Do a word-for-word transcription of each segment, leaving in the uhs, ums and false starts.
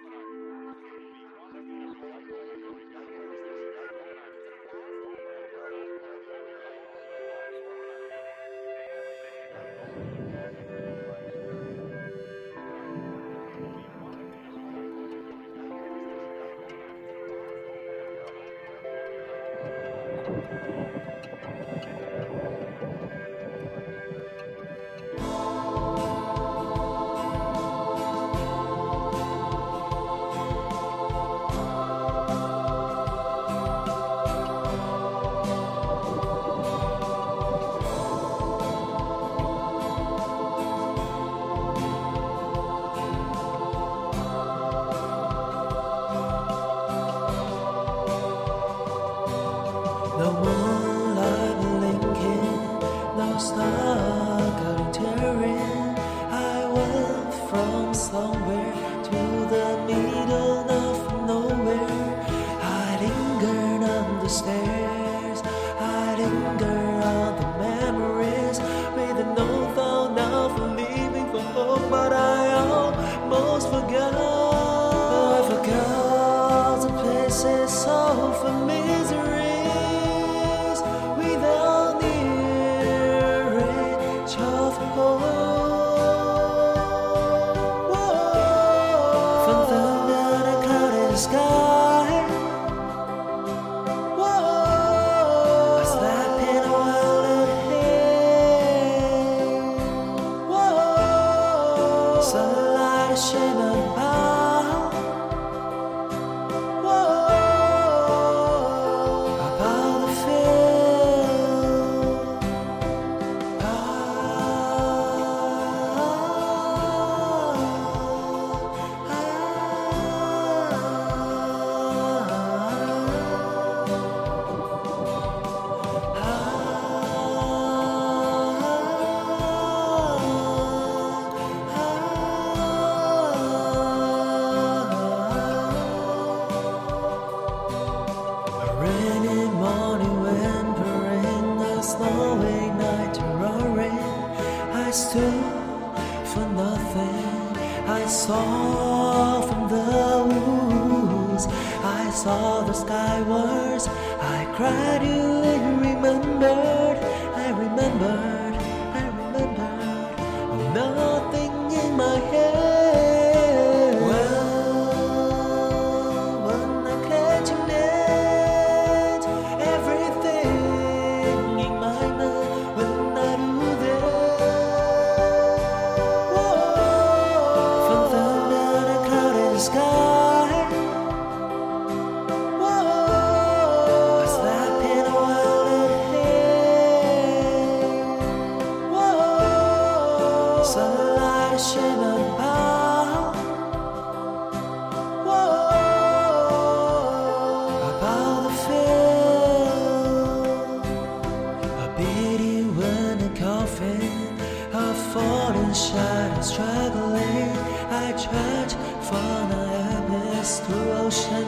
No moonlight blinking, no star glittering. I went from somewhere to the middle of nowhere. I lingered on the stairs, I lingered on the memories, with no thought of leaving for home. But I almost forgot, I forgot the places of misery. Sky. Whoa, I slept in a wild haze. Whoa, sunlight shimmered about. Whoa, about the field. Ah, rainy morning, whimpering, a snowy night roaring. I stood for nothing. I saw from the woods. I saw the skywards. I cried, you remembered. I remembered. I remembered. Oh, nothing in my head. Sky. Whoa, I slept in a wild haze. Whoa, sunlight shimmered about. Whoa, about the field. A beating in a coffin, a falling shadow struggling. I tried from the abyss to ocean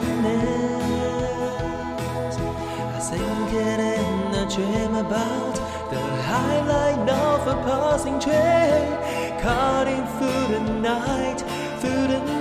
mist. I sink it in a dream about the highlight of a passing train, cutting through the night, through the